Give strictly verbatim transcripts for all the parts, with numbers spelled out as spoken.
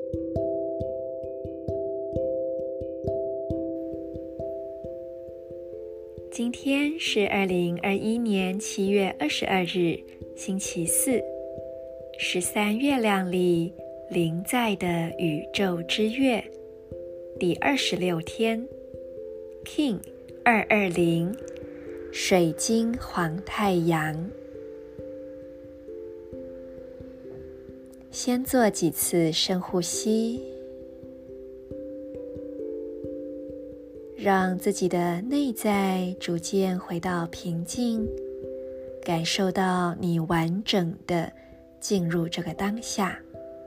今天是二零二一年七月二十二日，星期四，十三月亮里临在的宇宙之月，第二十六天 King 二二零水晶黄太阳。先做几次深呼吸，让自己的内在逐渐回到平静，感受到你完整的进入这个当下。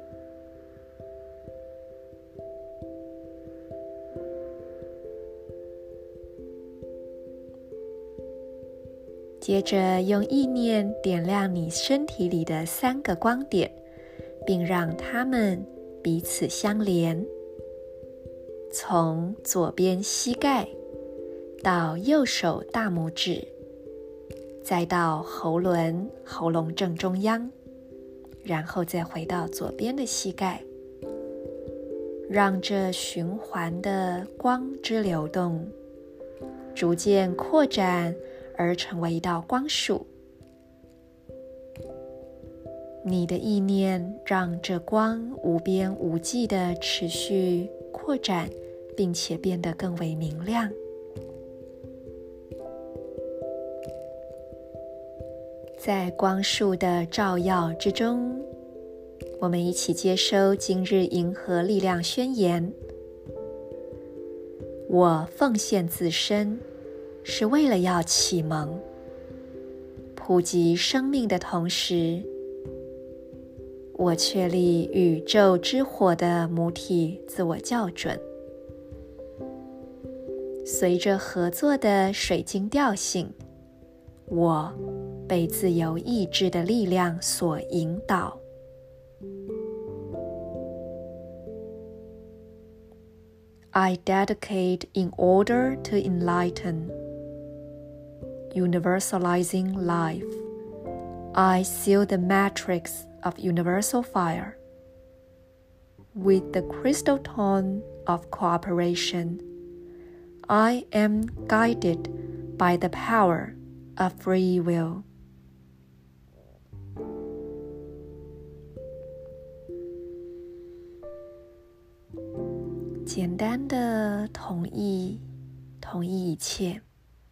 接着用意念点亮你身体里的三个光点，并让它们彼此相连。从左边膝盖到右手大拇指，再到喉轮喉咙正中央，然后再回到左边的膝盖，让这循环的光之流动逐渐扩展而成为一道光束。你的意念让这光无边无际地持续扩展，并且变得更为明亮。在光束的照耀之中，我们一起接收今日银河力量宣言。我奉献自身，是为了要启蒙、普及生命的同时，我确立宇宙之火的母体自我校准。随着合作的水晶调性，我被自由意志的力量所引导。I dedicate in order to enlighten, universalizing life. I seal the matrix of universal fire with the crystal tone of cooperation. I am guided by the power of free will. 简单的同意，同意一切。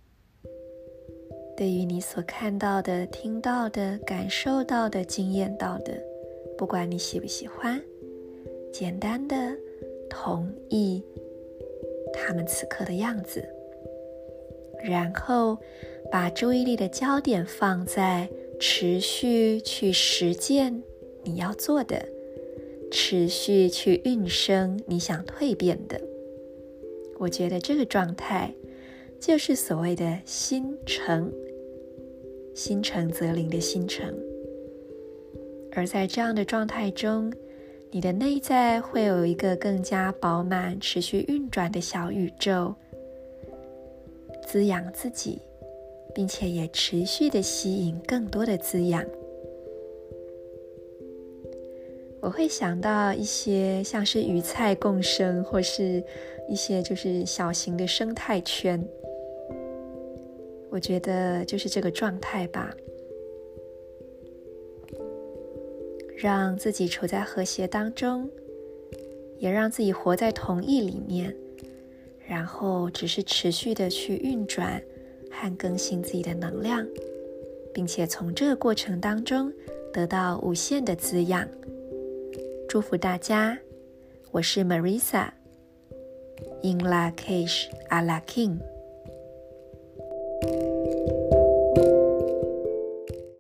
对于你所看到的、听到的、感受到的、经验到的，不管你喜不喜欢，简单的同意他们此刻的样子，然后把注意力的焦点放在持续去实践你要做的，持续去运生你想蜕变的。我觉得这个状态就是所谓的心诚，心诚则灵的心诚。而在这样的状态中，你的内在会有一个更加饱满、持续运转的小宇宙，滋养自己，并且也持续的吸引更多的滋养。我会想到一些像是鱼菜共生，或是一些就是小型的生态圈。我觉得就是这个状态吧，让自己处在和谐当中，也让自己活在同意里面，然后只是持续的去运转和更新自己的能量，并且从这个过程当中得到无限的滋养。祝福大家，我是 Marisa In Lak'ech Ala K'in。